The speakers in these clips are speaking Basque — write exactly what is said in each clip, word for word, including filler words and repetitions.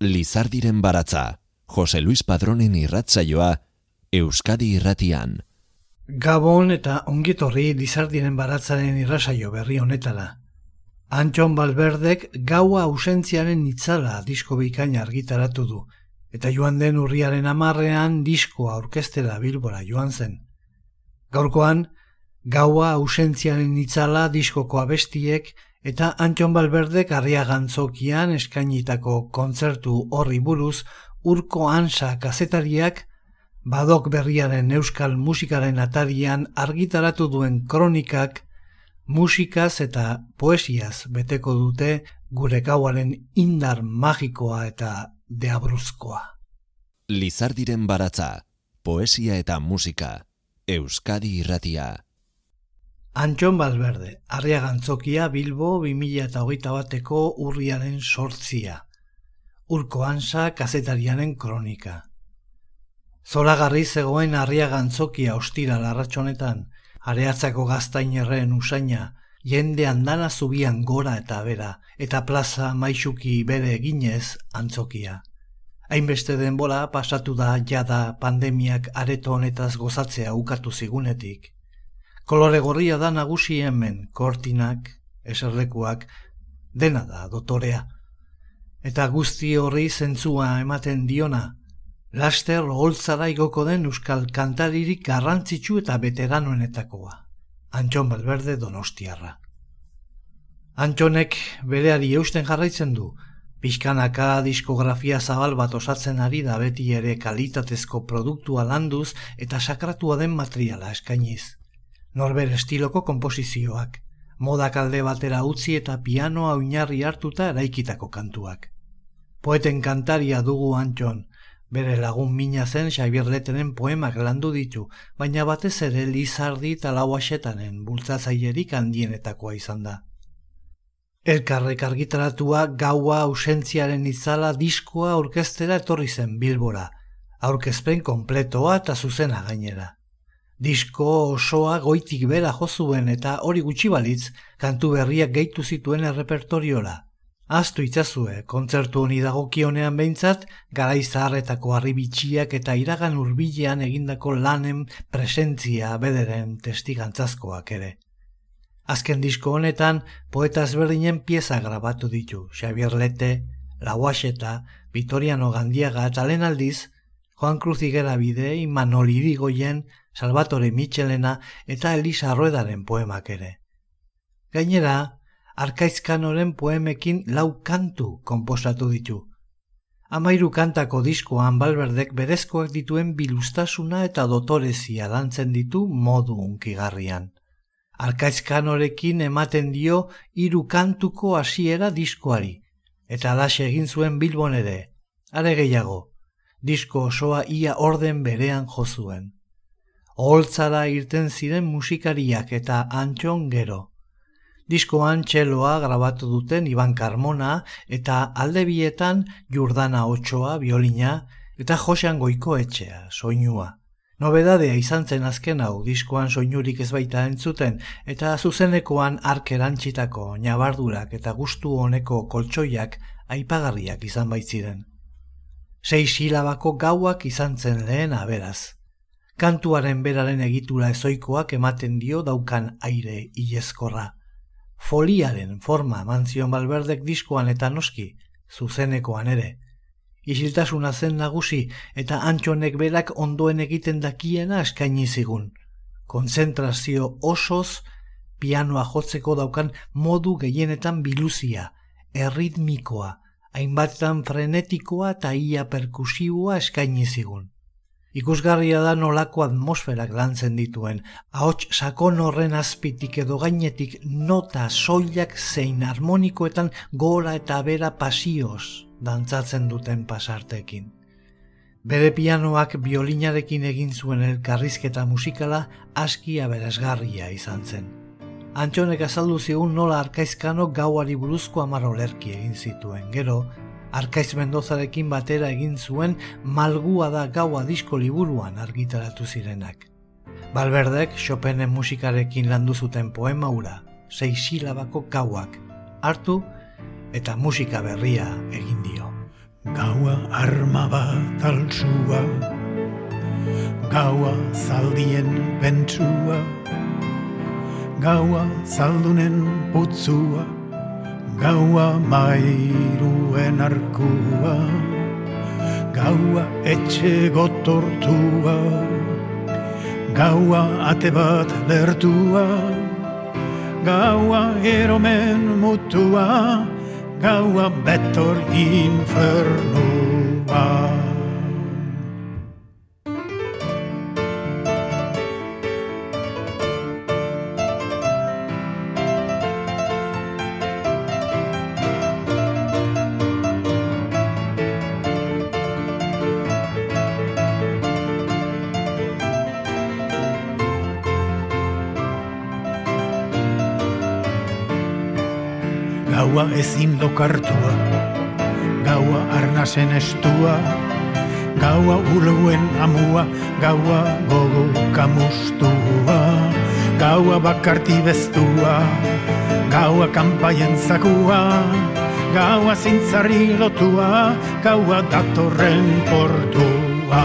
Lizardiren baratza, Jose Luis Padronen irratsaioa, Euskadi Irratian. Gabon eta ongitorri Lizardiren baratzaren irratsaio berri honetara. Antxon Balberdek Gaua ausentziaren itzala disko bikaina argitaratu du, eta joan den urriaren hamarrean diskoa aurkeztera Bilbora joan zen. Gaurkoan, Gaua ausentziaren itzala diskoko abestiek eta Antxon Balberdek Arriagantzokian eskainitako kontzertu horri buruz Urko Ansa kazetariak Badok berriaren euskal musikaren atarian argitaratu duen kronikak musikaz eta poesiaz beteko dute gure gauaren indar magikoa eta deabruzkoa. Lizardiren baratza, poesia eta musika, Euskadi Irratia. Antxon Balberde, Arriagantzokia, Bilbo, bi mila hogeita bateko urriaren sortzia. Urko Ansa kazetariaren kronika. Zoragarri zegoen Arriagantzokia ostira larratxonetan, Areatzako gaztainerren usaina, jende andana zubian gora eta bera, eta plaza maixuki bere eginez antzokia. Hainbeste denbora pasatu da jada pandemiak areto honetaz gozatzea ukatu zigunetik. Kolore gorria da nagusi hemen, kortinak, eserlekuak, dena da dotorea. Eta guzti horri zentzua ematen diona, laster oholtzara igoko den euskal kantaririk garrantzitsu eta veteranoenetakoa, Antxon Balberde donostiarra. Antxonek bereari eusten jarraitzen du, pixkanaka diskografia zabal bat osatzen ari da beti ere kalitatezko produktua landuz eta sakratua den materiala eskainiz. Norber estiloko konposizioak, modak alde batera utzi eta pianoa oinarri hartuta eraikitako kantuak. Poeten kantaria dugu Antxon, bere lagun mina zen Xabier Leteren poemak landu ditu, baina batez ere Lizardi eta Lauaxetanen bultzatzailerik handienetakoa izan da. Elkarrek argitaratua Gaua ausentziaren itzala diskoa aurkeztera etorri zen Bilbora, aurkezpen konpletoa eta zuzena gainera. Disko osoa goitik bera jo zuen eta hori gutxi balitz kantu berriak gehitu zituen errepertoriora. Ahaztu itzazue, kontzertu honi dagokionean behintzat, garai zaharretako harribitxiak eta iragan hurbilean egindako lanen presentzia bederen testigantzazkoak ere. Azken disko honetan, poeta ezberdinen pieza grabatu ditu, Xabier Lete, Lauaxeta, Vitoriano Gandiaga eta lehen aldiz, Joan Cruz Igerabide, Imanol Irigoyen, Salvatore Michelena eta Elisa Ruedaren poemak ere. Gainera, Arkaizkanoren poemekin lau kantu konposatu ditu. Hamairu kantako diskoan Balberdek berezkoak dituen biluztasuna eta dotorezia lantzen ditu modu hunkigarrian. Arkaizkanorekin ematen dio hiru kantuko hasiera diskoari, eta halaxe egin zuen Bilbon ere. Are gehiago, disko osoa ia orden berean jo zuen. Oholtzara irten ziren musikariak eta Antxon gero. Diskoan txeloa grabatu duten Iban Carmona eta aldebietan Jurdana Otsoa biolina eta Josean Goikoetxea soinua. Nobedadea izan zen azken hau, diskoan soinurik ez baita entzuten eta zuzenekoan hark erantzitako ñabardurak eta gustu honeko koltsoiak aipagarriak izan baitziren. Sei silabako gauak izan zen lehen aberaz. Kantuaren beraren egitura ezoikoak ematen dio daukan aire ilezkorra. Foliaren forma eman zion Balberdek diskoan eta noski, zuzenekoan ere. Isiltasuna zen nagusi eta Antxonek berak ondoen egiten dakiena eskaini zigun. Konzentrazio osoz, pianoa jotzeko daukan modu gehienetan biluzia, erritmikoa, hainbatetan frenetikoa eta ia perkusiboa eskaini zigun. Ikusgarria da nolako atmosferak lantzen dituen, ahots sakon horren azpitik edo gainetik nota soilak zein harmonikoetan gora eta bera pasioz dantzatzen duten pasartekin. Bere pianoak biolinarekin egin zuen elkarrizketa musikala aski aberasgarria izan zen. Antxonek azaldu zigun nola Arkaizkano Gauari buruzko hamar olerki egin zituen, gero Arkaiz Mendozarekin batera egin zuen Malgua da Gaua disko liburuan argitaratu zirenak. Balberdek Chopinen musikarekin landu zuten poema hura, sei silabako gauak, hartu eta musika berria egin dio. gaua arma bat altsua, gaua zaldien pentsua, gaua zaldunen putzua, gaua mairuen arkua, gaua etxe gotortua, gaua ate bat lertua, gaua eromen mutua, gaua betor infernua. Gaua ezin lokartua, gaua arnasen estua, gaua uluen amua, gaua gogo kamustua, gaua bakarti bestua, gaua kanpaien zakua, gaua zintzarri lotua, gaua datorren portua.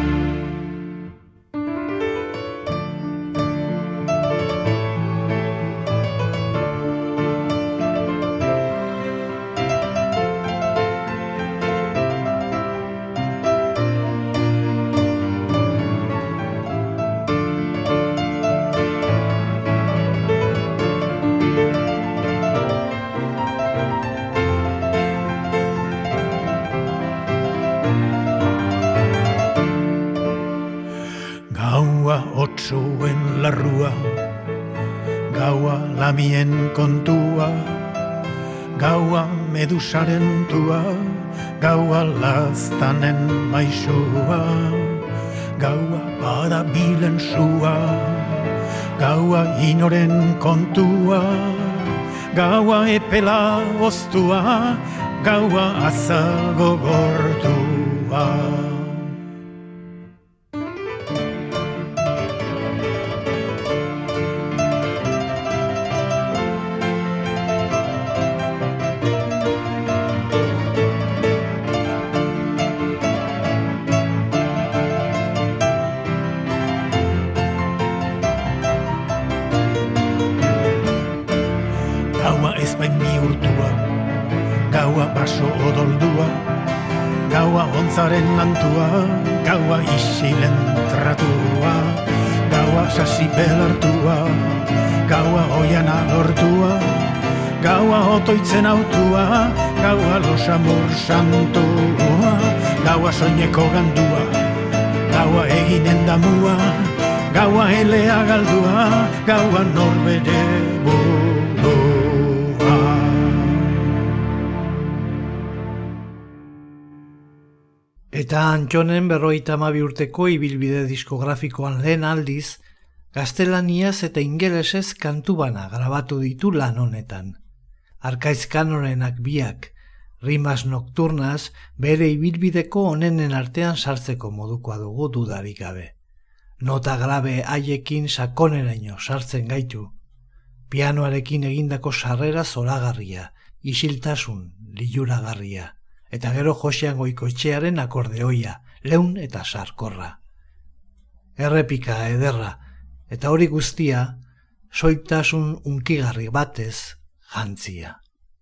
Otsuen larrua, gaua lamien kontua, gaua medusaren tua, gaua laztanen maisua, gaua badabilen sua, gaua inoren kontua, gaua epela oztua, gaua azago gortua. Gaua baso odoldua, gaua ontzaren nantua, gaua isilen tratua, gaua sasi belartua, gaua oiana lortua, gaua otoitzen autua, gaua losamur santua, gaua soineko gandua, gaua eginen damua, gaua elea galdua, gaua norbere burua. Eta Antxonen berrogeita hamabi urteko ibilbide diskografikoan lehen aldiz, gaztelaniaz eta ingelesez kantu bana grabatu ditu lan honetan. Arkaiz Kanorenak biak, Rimas Nocturnas, bere ibilbideko onenen artean sartzeko modukoa dugu dudarik gabe. Nota grabe haiekin sakoneraino sartzen gaitu. Pianoarekin egindako sarrera zoragarria, isiltasun liluragarria. Eta gero Josean Goikoetxearen akordeoia, leun eta sarkorra. Errepika ederra, eta hori guztia, soiltasun unkigarri batez jantzia.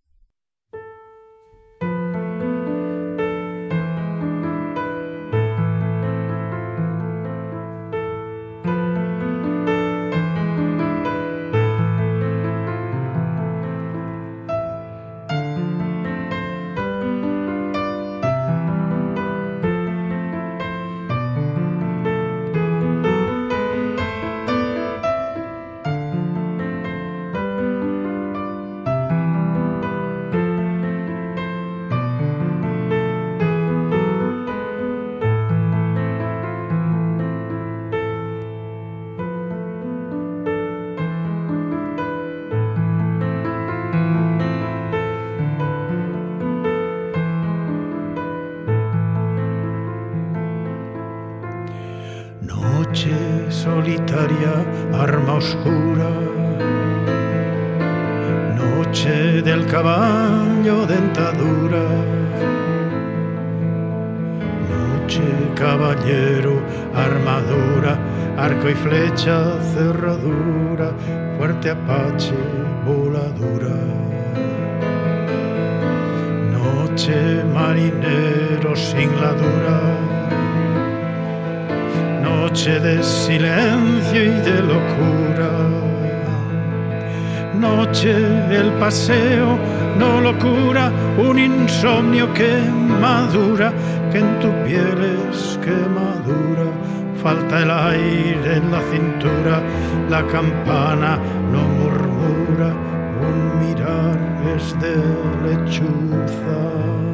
Noche solitaria, arma oscura, noche del caballo dentadura, noche, caballero, armadura, arco y flecha, cerradura, fuerte apache, voladura. Noche, marinero, sin la dura, noche de silencio y de locura. Noche, el paseo, no locura, un insomnio que madura, que en tu piel es quemadura. Falta el aire en la cintura, la campana no murmura, un mirar es de lechuza.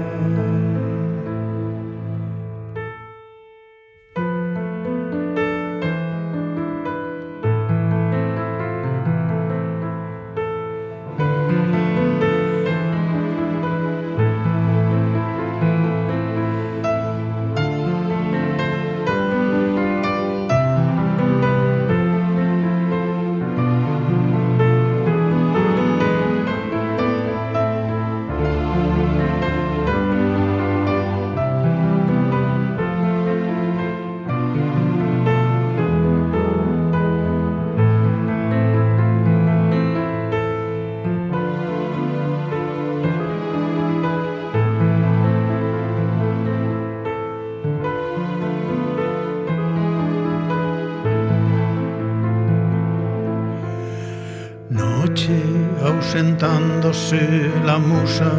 Ausentándose la musa,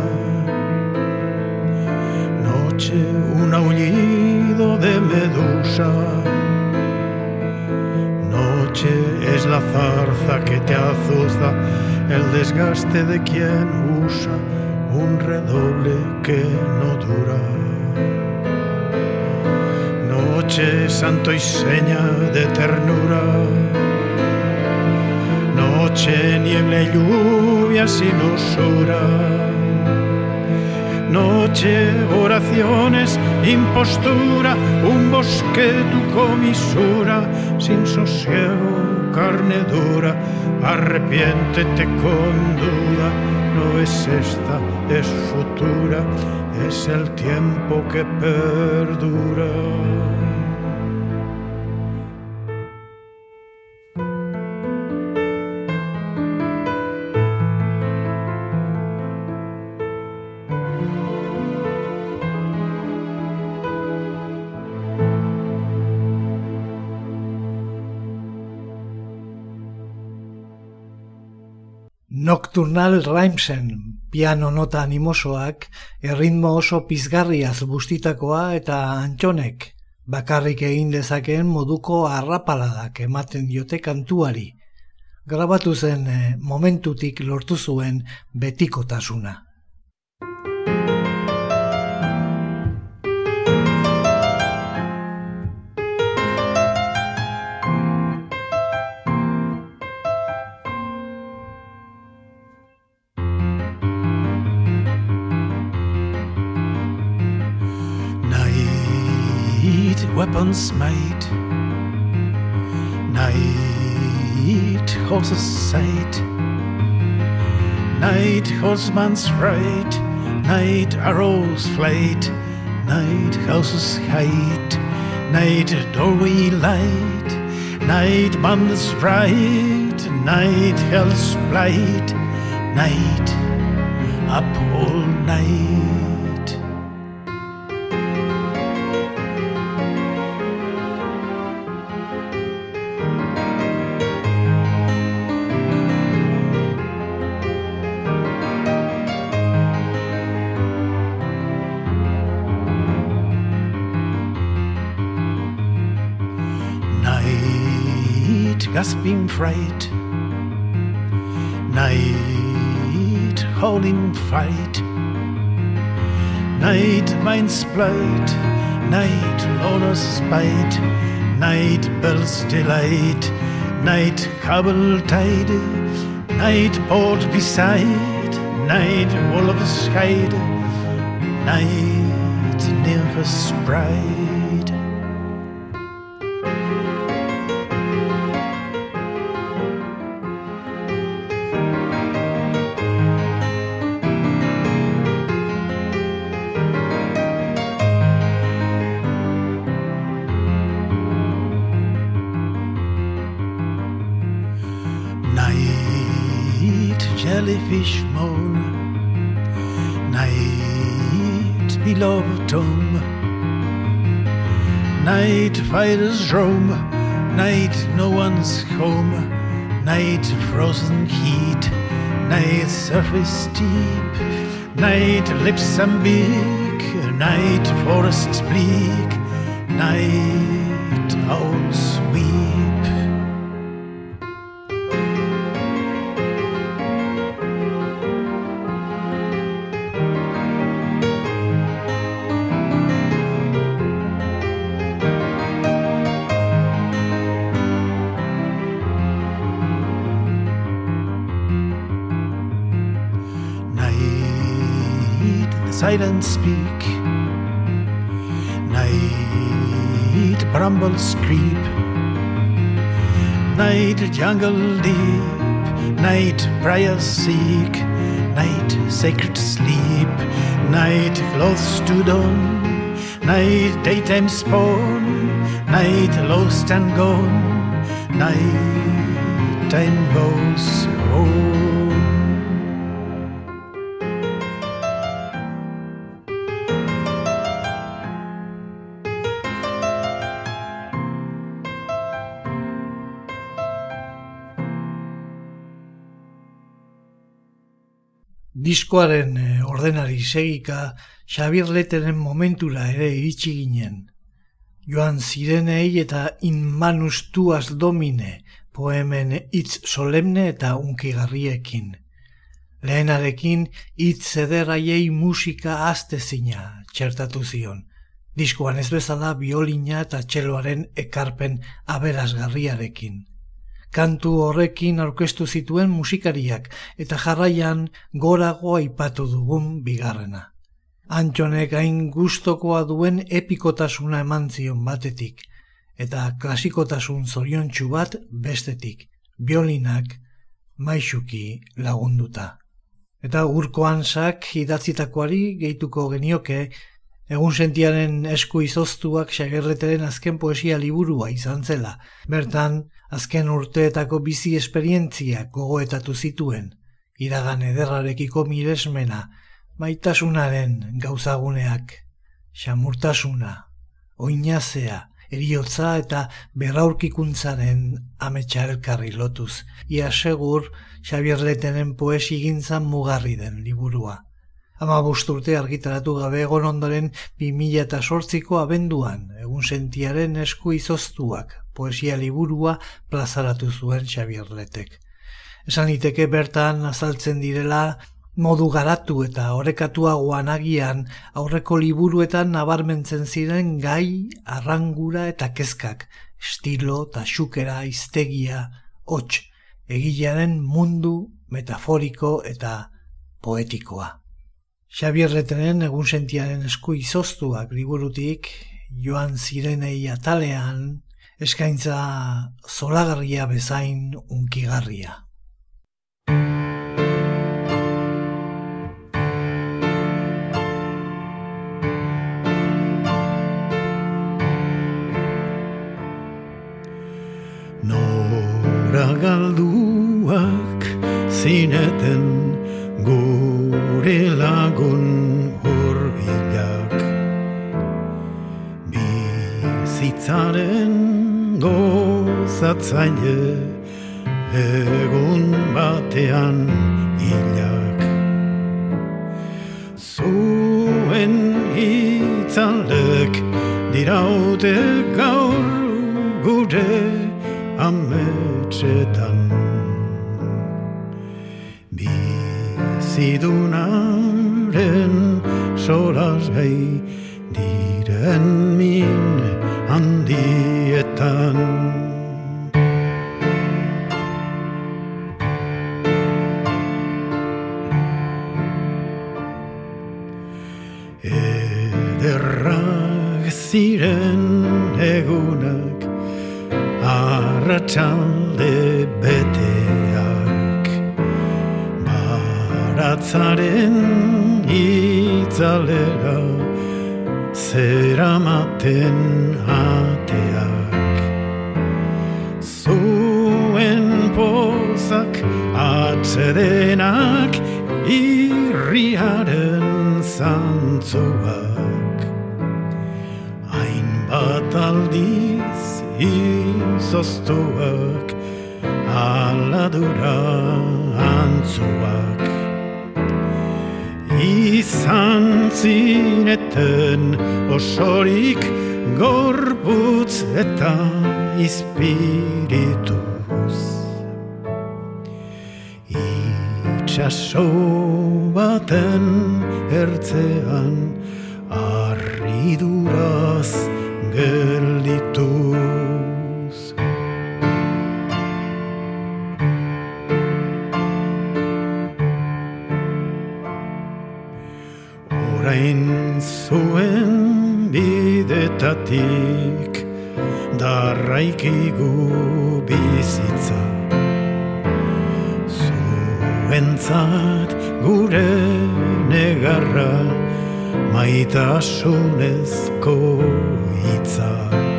noche, un aullido de medusa, noche es la zarza que te azuza, el desgaste de quien usa un redoble que no dura. Noche, santo y seña de ternura, noche, niebla y lluvia sin usura. Noche, oraciones, impostura, un bosque tu comisura, sin sosiego, carne dura, arrepiéntete con duda, no es esta, es futura, es el tiempo que perdura. Nocturnal Rhymesen, piano nota animosoak, erritmo oso pizgarriaz bustitakoa eta Antxonek bakarrik egin dezakeen moduko arrapaladak ematen diote kantuari. Grabatu zen momentutik lortu zuen betikotasuna. Weapons made, night horses sight, night horseman's ride, night arrows flight, night houses height, night doorway light, night man's right, night hell's blight, night up all night. Gasping fright, night howling fight, night mind's blight, night loner's spite, night bells delight, night cable tide, night port beside, night wolf's hide, night nymph's bride. jellyfish moan. Night beloved home. Night fighters roam. Night no one's home. Night frozen heat. Night surface deep. Night lips ambig. Night forests bleak. Night owls weep. Night, the silent speak. Night, brambles creep. Night, jungle deep. Night, briars seek. Night, sacred sleep. Night, clothes to don. Night, daytime spawn. Night, lost and gone. Night, time goes on. Diskoaren ordenari segika Xabier Leteren momentura ere iritsi ginen. Joan zirenei eta In manus tuas domine poemen hitz solemne eta unkigarriekin. Lehenarekin hitz ederraiei musika astezina txertatu zion. Diskoan ez bezala biolina eta txeloaren ekarpen aberasgarriarekin. Kantu horrekin aurkeztu zituen musikariak eta jarraian gorago aipatu dugun bigarrena. Antxonek hain gustokoa duen epikotasuna eman zion batetik eta klasikotasun zoriontsu bat bestetik, biolinak maisuki lagunduta. Eta Urko Hansak idatzitakoari gehituko genioke egunsentiaren esku izoztuak Xabier Leteren azken poesia liburua izan zela. Bertan, azken urteetako bizi esperientziak gogoetatu zituen, iragan ederrarekiko miresmena, maitasunaren gauzaguneak, xamurtasuna, oinazea, eriotza eta berraurkikuntzaren ametsa elkarri lotuz. Ia segur Xabier Leteren poesigintzan mugarri den liburua. Hamabost urte argitaratu gabe egon ondoren bi mila zortziko abenduan egunsentiaren esku izoztuak poesia liburua plazaratu zuen Xabier Letek. Esan liteke bertan azaltzen direla modu garatu eta orekatuagoan agian aurreko liburuetan nabarmentzen ziren gai, arrangura eta kezkak, estilo eta xukera, hiztegia, hots, egilearen mundu metaforiko eta poetikoa. Xabier Leteren egunsentiaren esku izoztuak liburutik joan zirenei atalean eskaintza zoragarria bezain unkigarria. Nora galduak zineten gure lagun hurbilak, bizitzaren gozatzaile egun batean hilak. Zuen hitzalek diraute gaur gure ametsetan, bizidunaren solasgai diren min handietan. Ederrak ziren egunak, arratsalde beteak, baratzaren itzalera zeramaten ateak. Zuen pozak atsedenak, irriaren zantzuak. Hainbat aldiz izoztuak, aladura antzuak. Izan zineten osorik gorputz eta izpirituz. Itxaso baten ertzean harriduraz geldituz. Orain zuen bidetatik darraikigu bizitza. Zuentzat gure negarra maitasunezko hitza.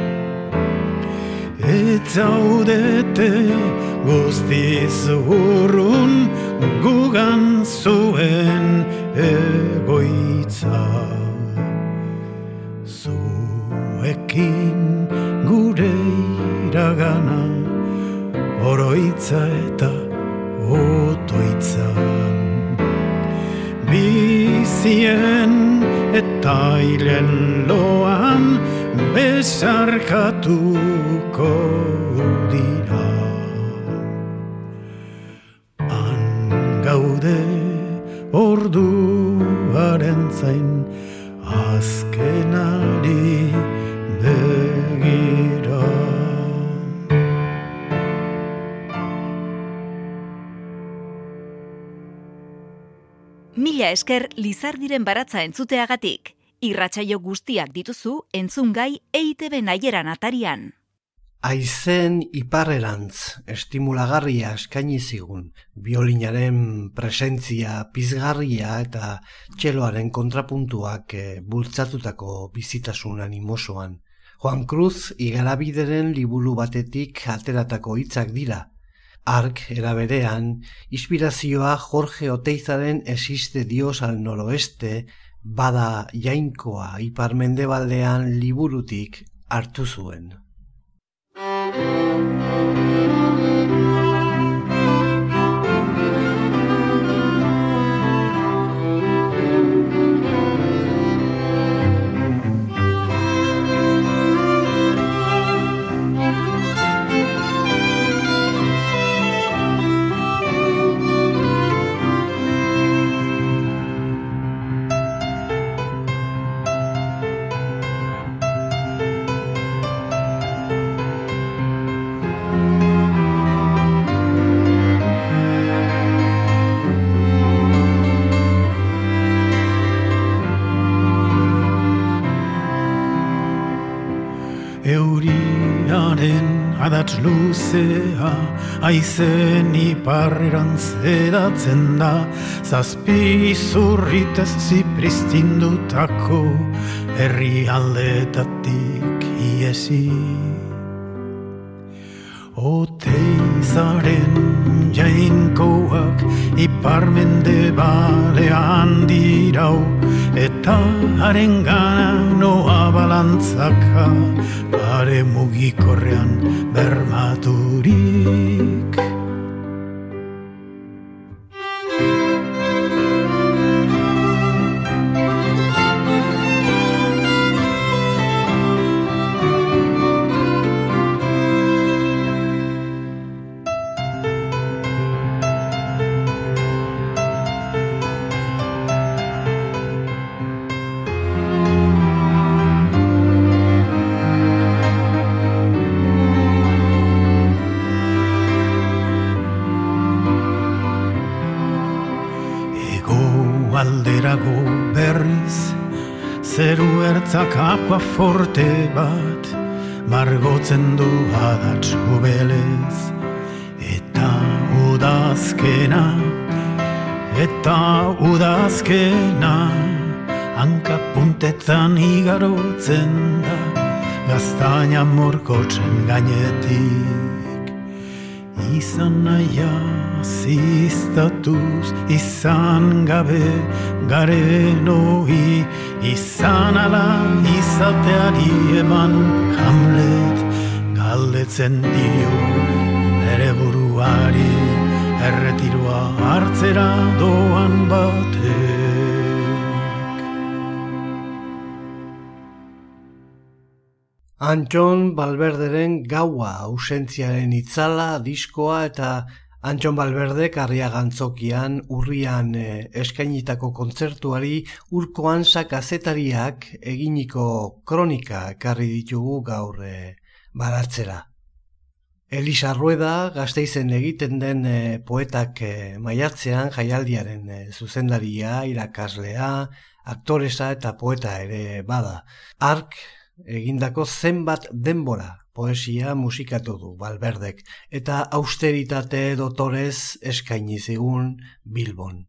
Etzaudete guztiz urrun gugan zuen egoitza. Zuekin gure iragana oroitza eta otoitza. Bizien eta hilen loan besarkatuko dira. Han gaude orduaren zain azkenari begira. Mila esker Lizardiren baratza entzuteagatik. Irratsaio guztiak dituzu entzungai E I Te Be Naieran atarian. Aizen iparrerantz estimulagarria eskaini zigun, biolinaren presentzia pizgarria eta txeloaren kontrapuntuak e, bultzatutako bizitasun animosoan. Juan Cruz igarabideren liburu batetik ateratako hitzak dira. Ark eraberean, inspirazioa Jorge Oteizaren Existe Dios al noroeste, bada jainkoa ipar-mendebaldean liburutik hartu zuen. Adats luzea, aizen iparrerantz edatzen da, zazpi zurritez zipristindutako herri aldetatik iesi. Oteizaren jainkoak ipar-mendebalean dirau, eta harengana noa balantzaka, pare mugikorrean bermaturik. Alderago berriz, zeru ertzak akuaforte bat, margotzen du adats gubelez. Eta udazkena, eta udazkena, hankapuntetan igarotzen da, gaztaina morkotzen gainetik. Izan naia ziztatuz izan gabe garen ohi, izan ala izateari eman Hamlet galdetzen dio bere buruari, erretiroa hartzera doan batek. Antxon Balberderen Gaua ausentziaren itzala, diskoa eta Antxon Balberdek Arriagantzokian urrian eh, eskainitako kontzertuari Urko Ansa kazetariak eginiko kronika ekarri ditugu gaur eh, baratzera. Elisa Rueda, Gasteizen egiten den eh, poetak eh, maiatzean jaialdiaren eh, zuzendaria, irakaslea, aktoresa eta poeta ere bada. Ark egindako zenbat denbora poesia musikatu du Balberdek eta austeritate dotorez eskaini zigun Bilbon.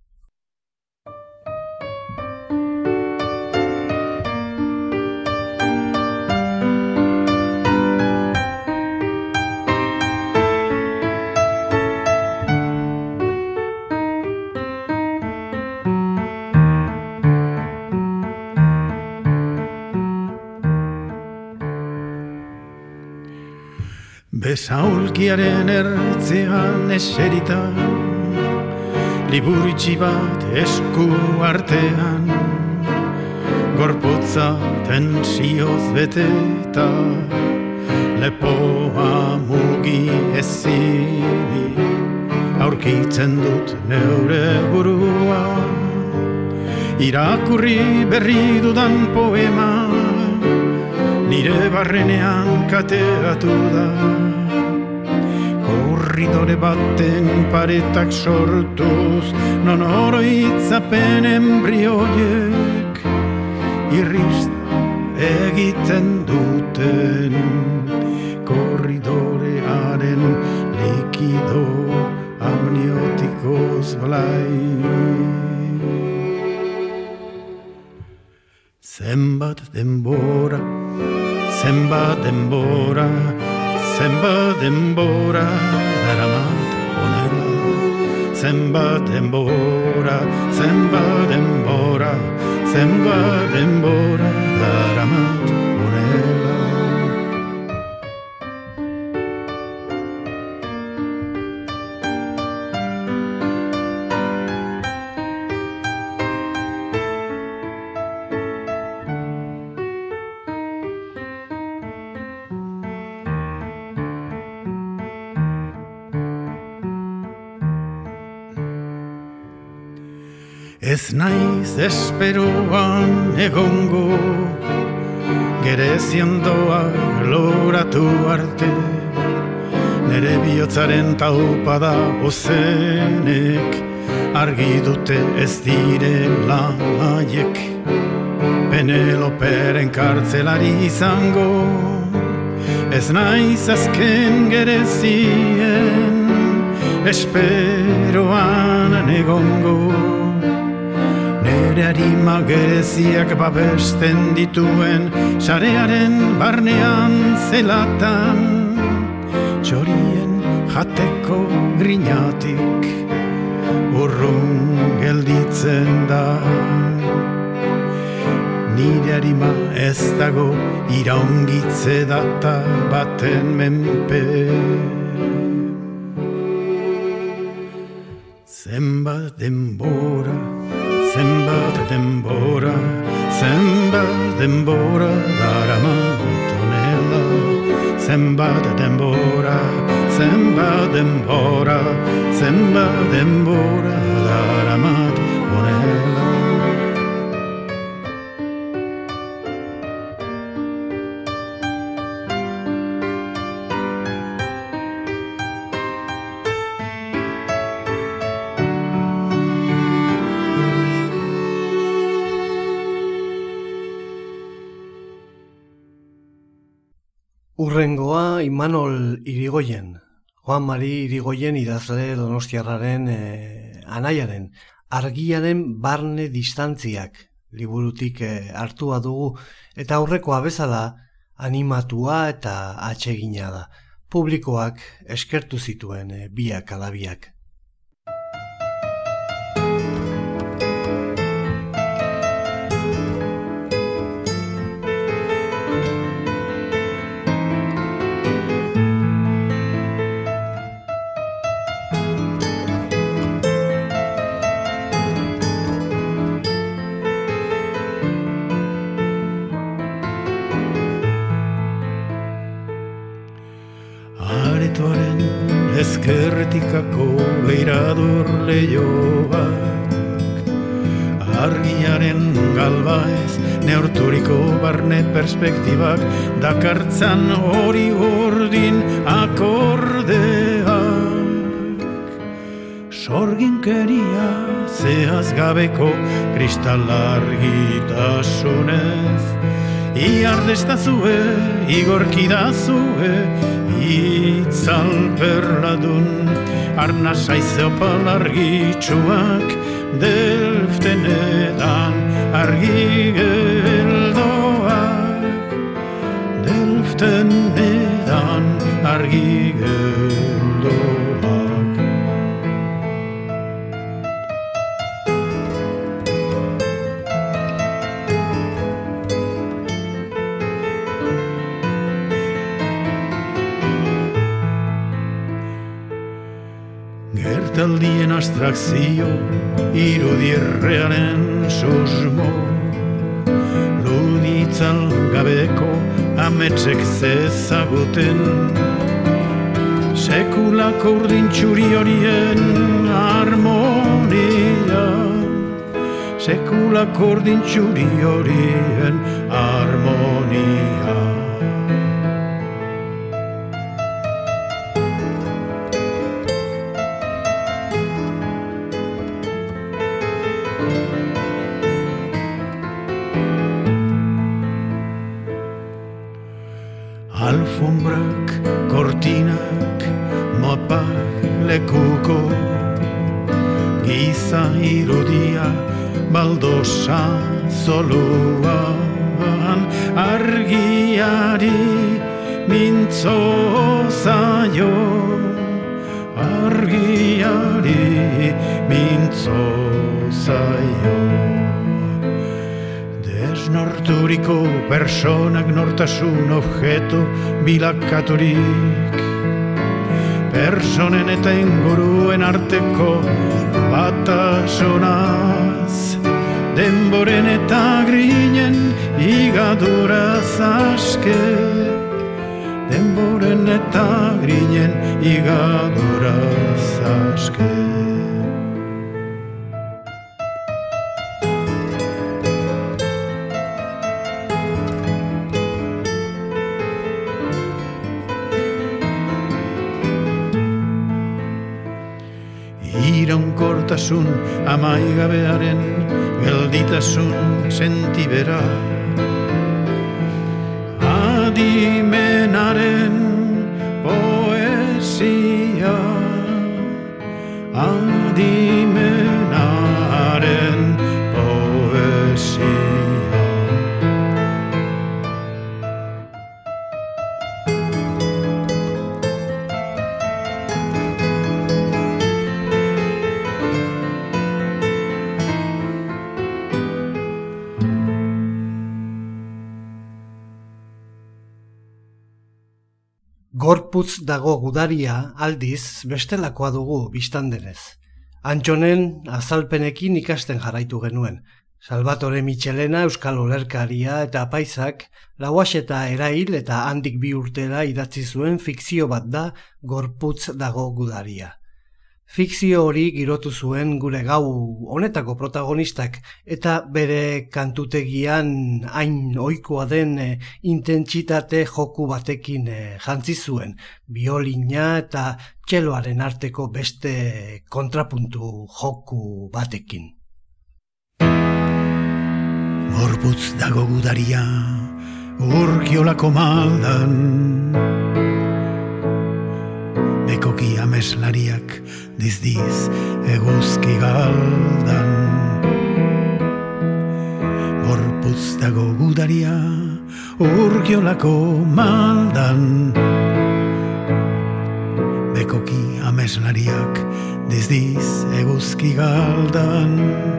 Besaulkiaren ertzean eserita, liburitxi bat esku artean, gorputza tensioz beteta, lepoa mugi ezinik, aurkitzen dut neure burua, irakurri berri dudan poema, nire barrenean kateatu da. Korridore baten paretak sortuz, non oroitzapen embrioiek irrista egiten duten. Korridorearen likido amniotikoz blai. Zenbat denbora, zenbat denbora, zenbat denbora daramat honela. Zenbat denbora, zenbat denbora, zenbat denbora daramat honela. Ez naiz esperoan egongo, gerezian doa loratu arte, nere bihotzaren taupada ozenek, argi dute ez direla haiek, Peneloperen kartzelari izango, ez naiz azken gerezien, esperoan egongo. Nere harima gereziak babesten dituen sarearen barnean zelatan, txorien jateko grinatik urrun gelditzen da. Nire harima ez dago iraungitze data baten menpe. Zenbat denbora, zenbat denbora, zenbat denbora daramat honela. Zenbat denbora, zenbat denbora, zenbat denbora daramat honela. Urrengoa Imanol Irigoyen, Juan Mari Irigoyen idazle donostiarraren eh, anaiaren, argiaren barne distantziak liburutik eh, hartua dugu, eta aurrekoa bezala animatua eta atsegina da. Publikoak eskertu zituen eh, biak ala biak. aretoaren ezkerretikako beirador lehioak, argiaren galbaez neurturiko barne perspektibak dakartzan hori urdin akordeak. Sorginkeria zehaz gabeko kristalargitasunez, iardestazue, igorkidazue, itzalperladun, arnasaize opal argitsuak, Delftenetan argi geldoak, Delftenetan argi geldoak. Gertaldien abstrakzio, irudierrearen susmo, luditzal gabeko ametsek zezaguten, sekulako urdintxuri horien harmonia, sekulako urdintxuri horien harmonia. Alfombrak, kortinak, mapak lekuko, giza irudia, baldosa zoluan, argiari mintzo zaio, argiari mintzo zaio. Desnorturiko personak nortasun objeto bilakaturik, personen eta inguruen arteko batasunaz, denboren eta grinen igaduraz aske, denboren eta grinen igaduraz aske. Iraunkortasun amaigabearen gelditasun sentibera, adimenaren poesia, adimenaren poesia. Gorputz dago gudaria aldiz bestelakoa dugu biztandenez. Antxonen azalpenekin ikasten jarraitu genuen. Salvatore Michelena euskal olerkaria eta apaisak lauaxeta erail eta handik bi urtera idatzi zuen fikzio bat da Gorputz dago gudaria. Fikzio hori girotu zuen gure gau honetako protagonistak eta bere kantutegian hain ohikoa den e, intentsitate joku batekin e, jantzi zuen, biolina eta txeloaren arteko beste kontrapuntu joku batekin. Gorputz dago gudaria, urkiolako maldan, bekoki ameslariak dizdiz eguzki galdan. Gorputz dago gudaria, urkiolako maldan, bekoki ameslariak dizdiz eguzki galdan.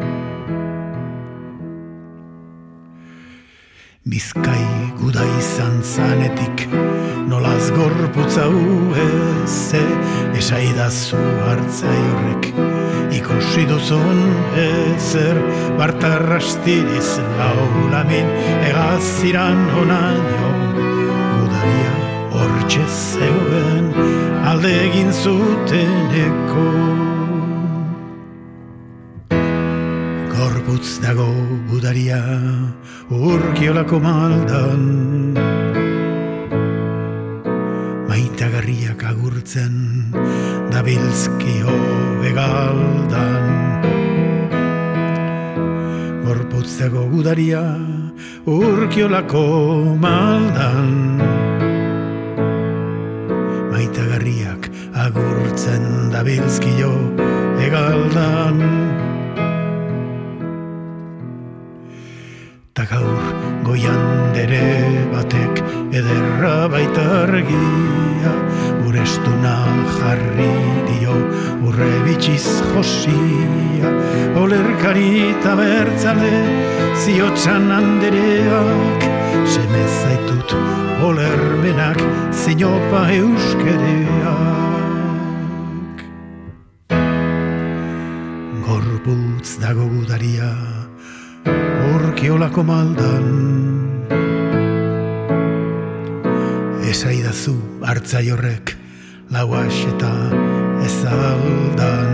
Bizkai guda izan zanetik, nolaz gorputza ueze, esaidazu hartzai horrek, ikusi duzun ezer, bartarrastiriz laulamin, egaziran onaino, gudaria hortxe zegoen, alde egin zuteneko. Gorputz dago gudaria Urkiolako maldan, maitagarriak agurtzen dabilzkio begaldan. Gorputz dago gudaria Urkiolako maldan, maitagarriak agurtzen dabilzkio begaldan. Ta gaur goian dere batek ederra baitargia, urestuna jarri dio urre bitxiz josia. Olerkari eta bertzale ziotxan andereak, semez zaitut olermenak zinopa euskereak. Gorputz dago gudaria Urkiolako maldan, esaidazu hartzaiorrek lauas eta ezaldan.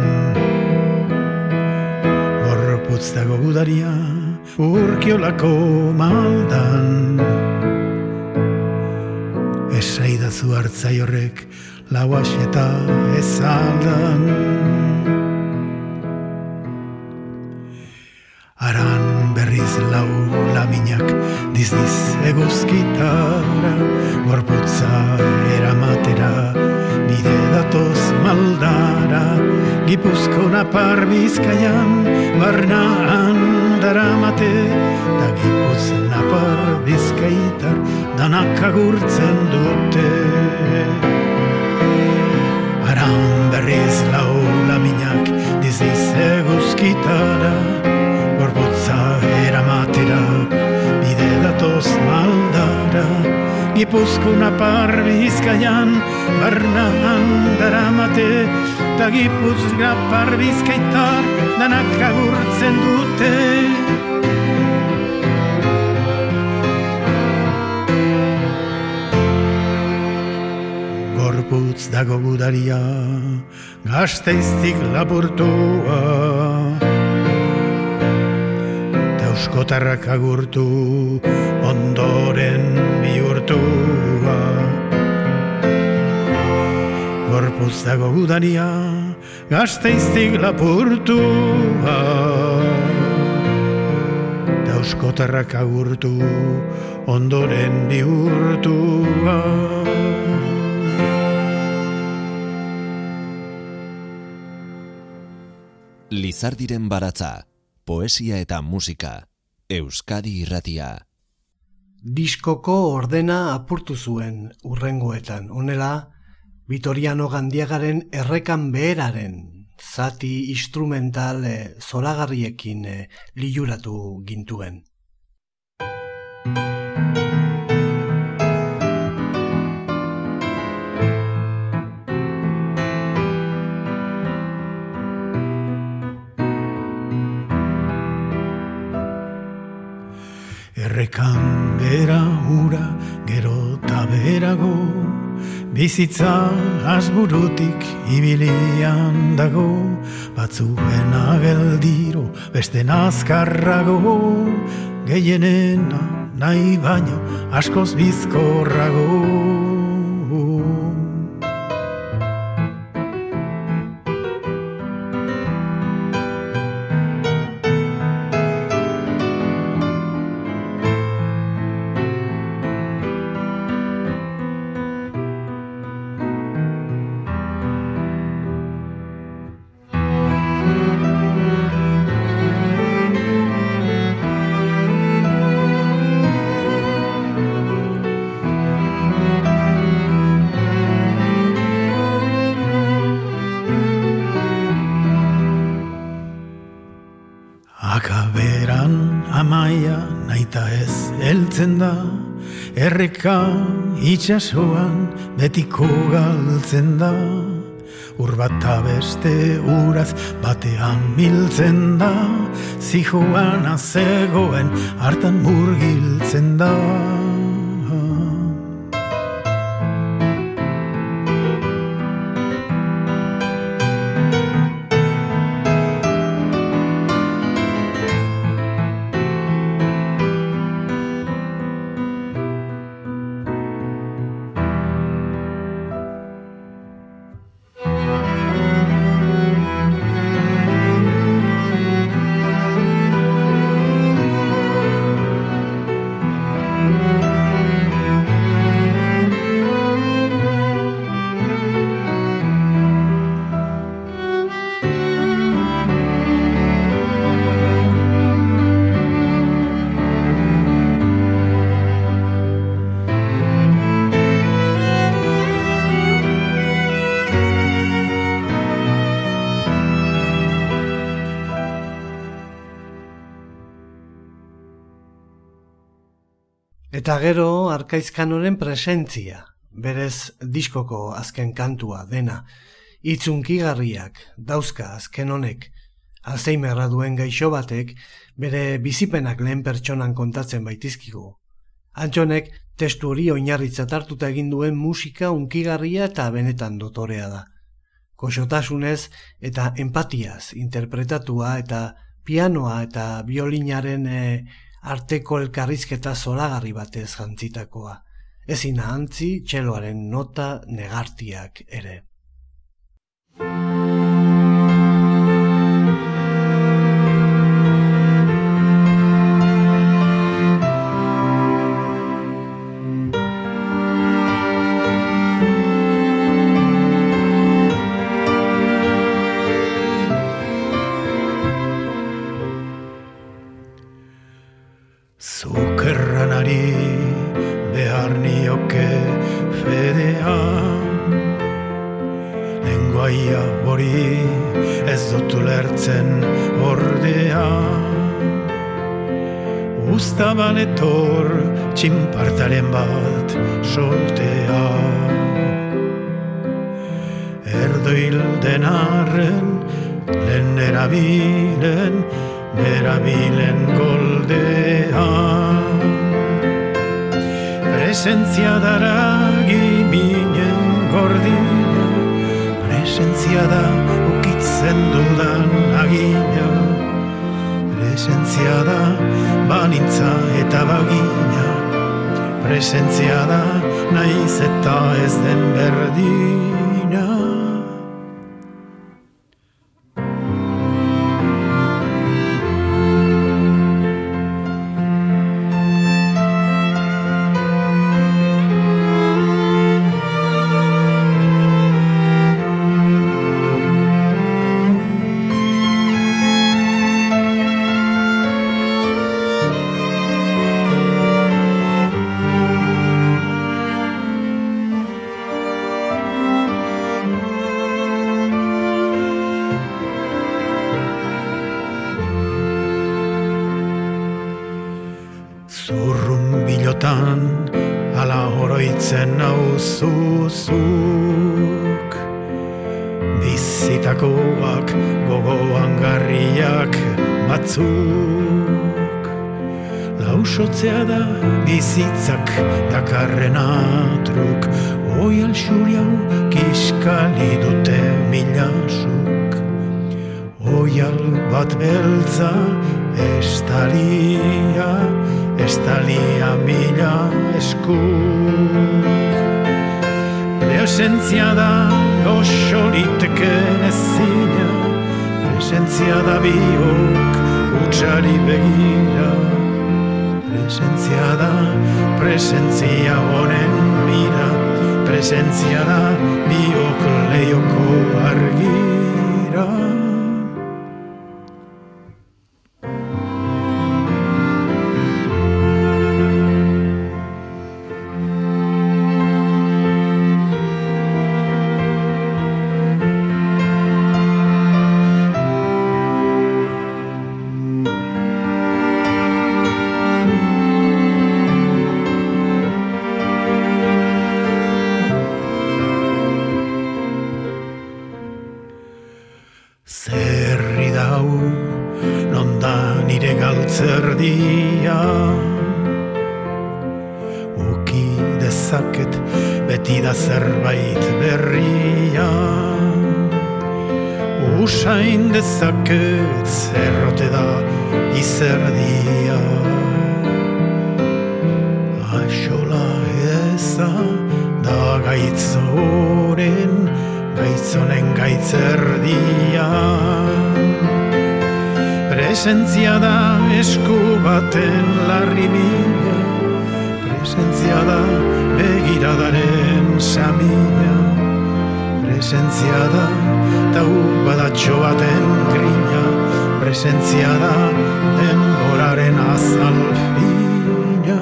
Gorputz dago gudaria Urkiolako maldan, esaidazu hartzaiorrek lauas eta ezaldan. Aran berriz lau laminak dizdiz eguzkitara, gorputza eramatera bide datoz maldara. Gipuzko napar Bizkaian barnaan daramate, da Gipuz napar Bizkaitar danak agurtzen dute. Aran berriz lau laminak dizdiz eguzkitara, gorputza eramatera bide datoz maldara. Gipuzko napar Bizkaian barnaan daramate, ta Gipuz napar Bizkaitar danak agurtzen dute. Gorputz dago gudaria Gasteiztik lapurtua, euskotarrak agurtu ondoren bihurtua. Gorputz dago gudaria Gasteiztik lapurtua, euskotarrak agurtu ondoren bihurtua. Lizardiren baratza, poesia eta musika, Euskadi Irratia. Diskoko ordena apurtu zuen urrengoetan, honela Vitoriano Gandiagaren errekan beheraren zati instrumental e, zoragarriekin e, liluratu gintuen. Errekan bera hura gero ta berago, bizitza asburutik ibilian dago, batzuen ageldiro beste nazkarrago, gehienena nahi baino askoz bizkorrago. Akaberan amaia naita ez heltzen da, erreka itxasoan betiko galtzen da, ur bat beste uraz batean miltzen da, zijoana zegoen hartan murgiltzen da. Eta gero Arkaizkanoren presentzia, berez diskoko azken kantua dena, itzunkigarriak dauzka azken honek, Alzheimerra duen gaixo batek bere bizipenak lehen pertsonan kontatzen baitizkigu. Antxonek testu hori oinarritzat hartuta egin duen musika unkigarria eta benetan dotorea da. Koxotasunez eta empatiaz interpretatua eta pianoa eta biolinaren e, arteko elkarrizketa zoragarri batez jantzitakoa. Ezin ahantzi txeloaren nota negartiak ere. Zukerranari behar nioke fedea, lenguaia hori ez dut ulertzen ordea. Uztaban etor txinpartaren bat soltea, erdoil denarren lehen erabilen, erabilen goldea. Presentzia daragi minen gordina, presentzia da ukitzen dudan agina, presentzia da banintza eta bagina, presentzia da naiz eta ez den berdina. Ala oroitzen nauzuzuk, bizitakoak gogoan garriak batzuk. Lausotzea da bizitzak dakarren atruk, oial xuriau kiskali dute milasuk. Oial bat beltza estalia, estalia mila esku. Presentzia da osoriteken ezina, presentzia da biok utxari begira. Presentzia da presentzia honen mira, presentzia da biok leioko argira. Zerri dau, nonda nire galtzerdia, uki dezaket beti da zerbait berria. Usain dezaket zerrote da izerdia, aixola eza da gaitzoren, gaitzonen gaitzerdia. Presentzia da esku baten larri bila, presentzia da begiradaren samila, presentzia da tau badatxo baten grina, presentzia da denboraren azalfina.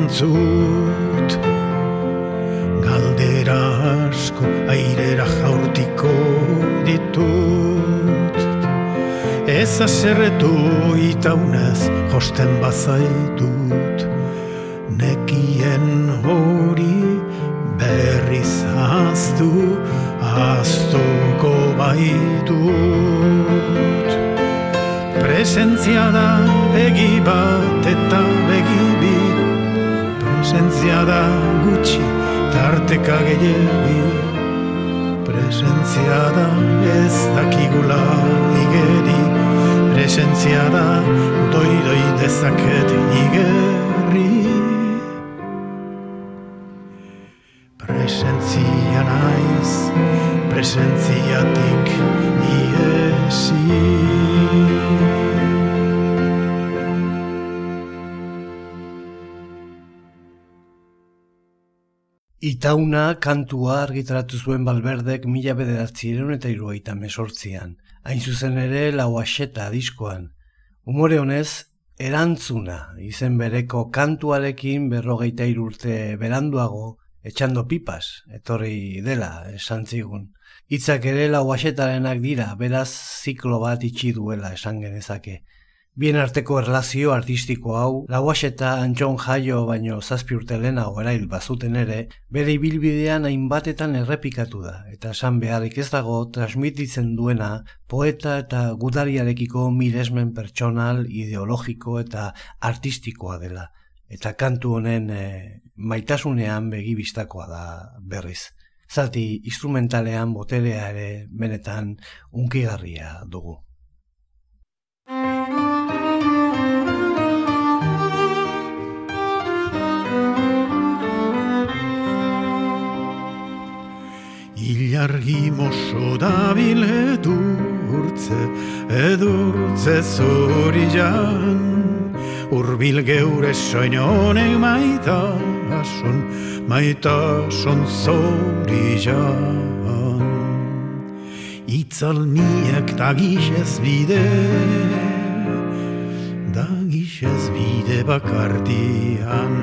erantzut. Galdera asko airera jaurtiko ditut. Ez aserretu itaunez josten bazaitut. Nekien hori berriz ahaztu, ahaztuko baitut. Presentzia da begi bat eta begi bi, presentzia da gutxi tarteka gehiegi, presentzia da ez dakigula igeri, presentzia da doi-doi dezaket igerri. Presentzia naiz, presentziatik iesi. Itauna kantua argitaratu zuen Valverdek mila bederatziehun eta hirurogeita hemezortzian, hain zuzen ere Lauaxeta diskoan. Umore honez, Erantzuna izen bereko kantuarekin berrogeita hiru urte beranduago etxando pipas, etorri dela esan zigun. Hitzak ere Lauaxetarenak dira, beraz ziklo bat itxi duela esan genezake. Bien arteko erlazio artistiko hau, Lauaxeta Antxon Jaio baino zazpi urte lehenago erail bazuten ere, bere ibilbidean hainbatetan errepikatu da, eta esan beharrik ez dago transmititzen duena poeta eta gudariarekiko miresmen pertsonal, ideologiko eta artistikoa dela. Eta kantu honen e, maitasunean begibistakoa da berriz. Zati instrumentalean boterea ere benetan unkigarria dugu. Ilargi moso dabil edurtze, edurtze zorian, urbil geure soinonek maitason, maitason zorian. Itzalmiak dagixez bide, dagixez bide bakardian.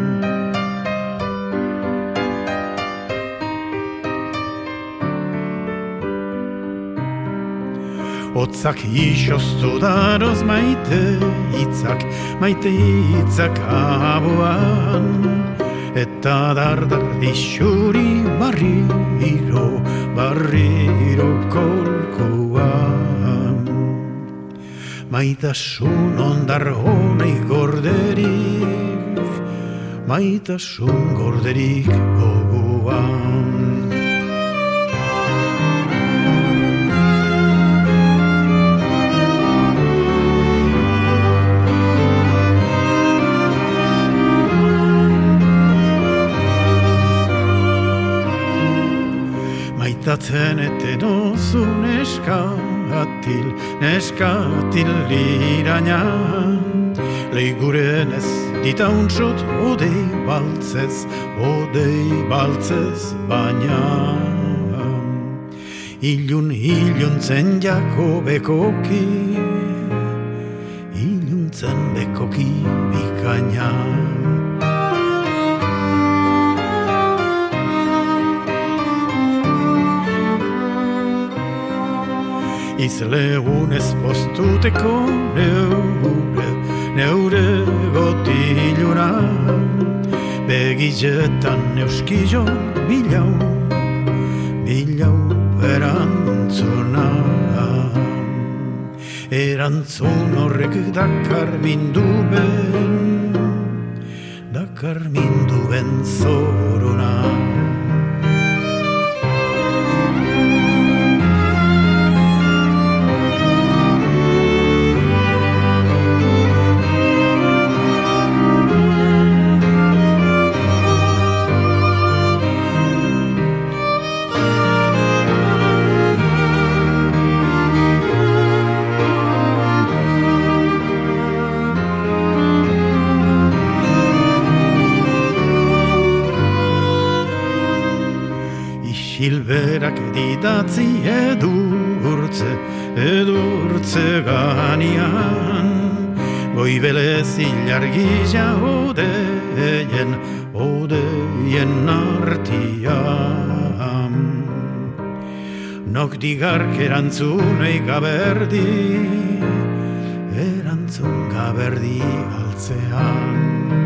Otzak isoztu daroz maite hitzak, maite hitzak abuan, eta dardar dixuri barriro, barriro kolkoan. Maitasun ondar honei gorderik, maitasun gorderik gogoan. Maitatzen eten ozu neskatil, neskatil liraina, leiguren ez ditauntzot odei baltzez, odei baltzez baina. Ilun iluntzen jako bekoki, iluntzen bekoki bikaina. Izlegunez postuteko neure, neure gotiluna, begizetan euskillo bilau, bilau erantzuna. Erantzun horrek dakar minduben, dakar minduben zoruna. Hilberak didatzi edurtze, edurtze ganian, goibelez ilargila ode odeien, odeien artian. Nok digark erantzunei gaberdi, erantzun gaberdi altzean.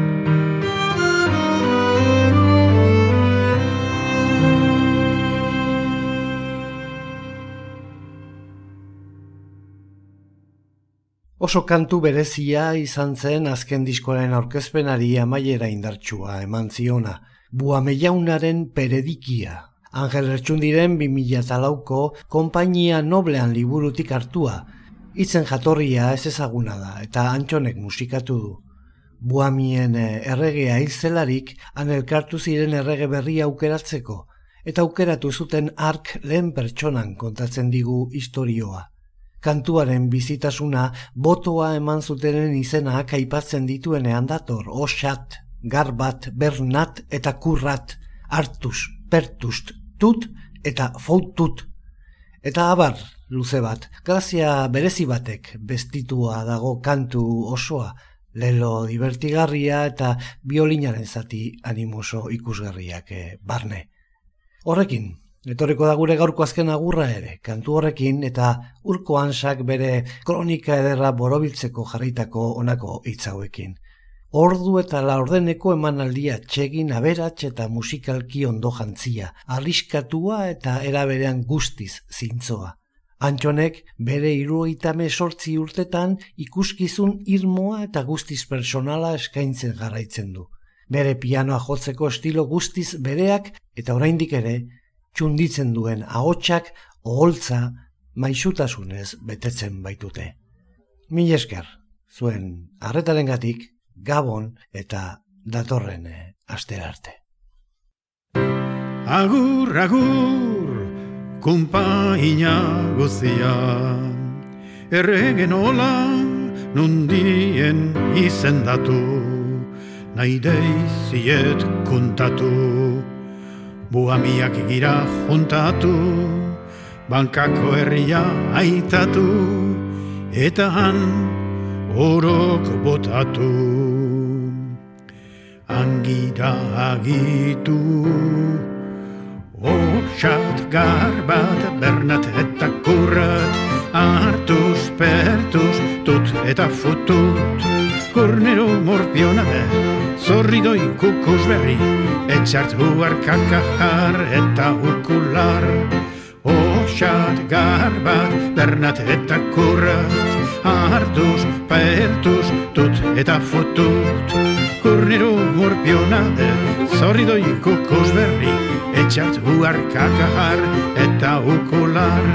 Oso kantu berezia izan zen azken diskoaren aurkezpenari amaiera indartsua eman ziona, Buamellaunaren Peredikia. Angel Lertxundiren bi mila lauko Konpainia Noblean liburutik hartua. Hitzen jatorria ez ezaguna da eta Antxonek musikatu du. Buamien erregea hil zelarik han elkartu ziren errege berria aukeratzeko eta aukeratu zuten hark lehen pertsonan kontatzen digu istorioa. Kantuaren bizitasuna botoa eman zutenen izenak aipatzen dituenean dator, Osat, Garbat, Bernat eta Kurrat, Artus, Pertust, Tut eta Foutut. Eta abar luze bat, grazia berezi batek bestitua dago kantu osoa, lelo divertigarria eta biolinaren zati animoso ikusgarriak barne. Horrekin, etorriko da gure gaurko azken agurra ere, kantu horrekin eta Urko Hansak bere kronika ederra borobiltzeko jarritako honako hitz hauekin. Ordu eta laurdeneko emanaldia txegin aberats eta musikalki ondo jantzia, arriskatua eta eraberean guztiz zintzoa. Antxonek bere hirurogeita hemezortzi urtetan ikuskizun irmoa eta guztiz personala eskaintzen jarraitzen du. Bere pianoa jotzeko estilo guztiz bereak eta oraindik ere txunditzen duen ahotsak oholtza maisutasunez betetzen baitute. Mil esker, zuen arretarengatik, Gabon eta datorren astera arte. Agur, agur, kunpaina guztia, erregen hola nundien izendatu, nahi deiziet kuntatu, buamiak gira juntatu, bankako herria aitatu, eta han orok botatu. Angira agitu, Osat, Garbat, Bernat eta Kurrat, Artus, Pertus, Tut eta Futut, Kornero morpionade, Zorridoi kukusberri, Etxart huarkakajar eta urkular. Osat, Garbat, Bernat eta Kurrat, Artus, Pertus, Tut eta Futut, Kornero morpionade, Zorridoi kukusberri, Etxart huarkakajar eta urkular.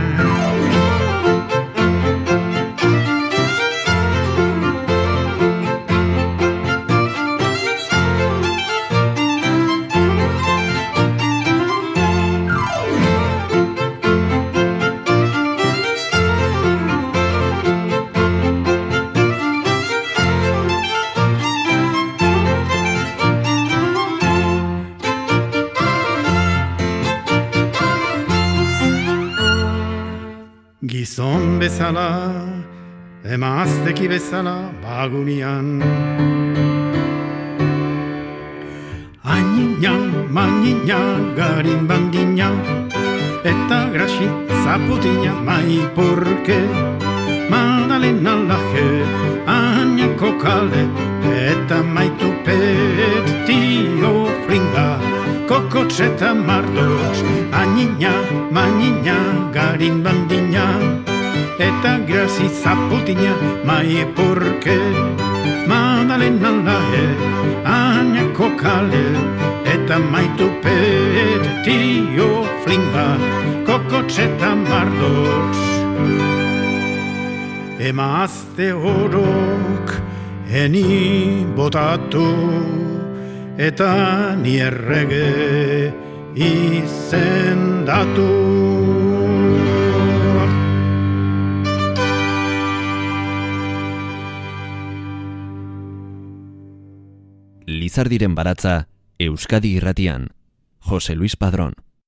Gizon bezala, emazteki bezala bagunian. Añina, mañina, garin bandina, eta grasi zaputina mai porke. Madalena laje, añako kale, eta maitu pet tio flinga. Kokotxeta mardoz, añina, mañina, garin bandina, eta grasi zaputina mai porke. Madalena laje, añako kale, eta maitu pet tio flinga. Kokotxeta mardoz. Emazte orok eni botatu, eta ni errege izendatu. Lizardiren baratza, Euskadi Irratian, Jose Luis Padrón.